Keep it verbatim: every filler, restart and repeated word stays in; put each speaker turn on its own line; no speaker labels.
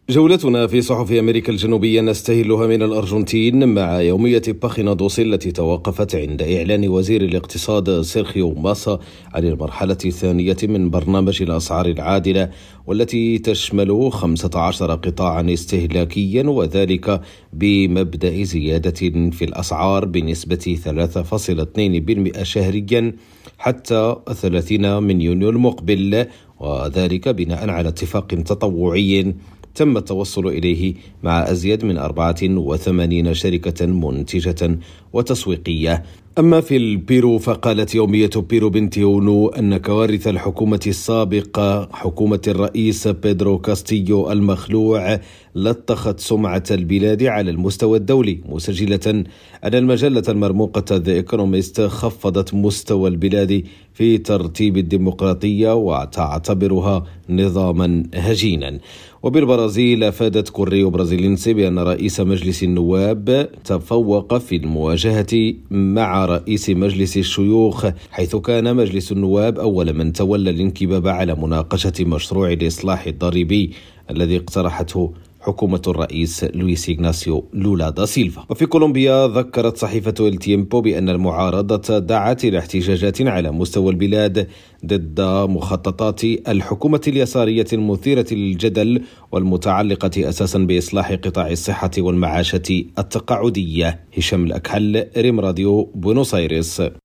جولتنا في صحف أمريكا الجنوبية نستهلها من الأرجنتين مع يومية باخينا دوسي التي توقفت عند إعلان وزير الاقتصاد سيرخيو ماسا عن المرحلة الثانية من برنامج الأسعار العادلة، والتي تشمل خمسة عشر قطاعا استهلاكيا، وذلك بمبدأ زيادة في الأسعار بنسبة ثلاثة فاصلة اثنين بالمئة شهريا حتى ثلاثين من يونيو المقبل، وذلك بناء على اتفاق تطوعي تم التوصل إليه مع أزيد من أربعة وثمانين شركة منتجة وتسويقية. أما في البيرو فقالت يومية بيرو بنتيونو أن كوارث الحكومة السابقة حكومة الرئيس بيدرو كاستيو المخلوع لطخت سمعة البلاد على المستوى الدولي، مسجلة أن المجلة المرموقة ذا إيكونوميست خفضت مستوى البلاد في ترتيب الديمقراطية وتعتبرها نظاما هجينا. وبالبرازيل أفادت كوريو برازيلينسي بأن رئيس مجلس النواب تفوق في المواجهة مع رئيس مجلس الشيوخ، حيث كان مجلس النواب أول من تولى الانكباب على مناقشة مشروع الإصلاح الضريبي الذي اقترحته حكومة الرئيس لويس إغناسيو لولا دا سيلفا. وفي كولومبيا ذكرت صحيفة إل تيمبو بأن المعارضة دعت إلى احتجاجات على مستوى البلاد ضد مخططات الحكومة اليسارية المثيرة للجدل والمتعلقة أساسا بإصلاح قطاع الصحة والمعاشة التقاعدية. هشام الأكحل، ريم راديو، بونوس آيرس.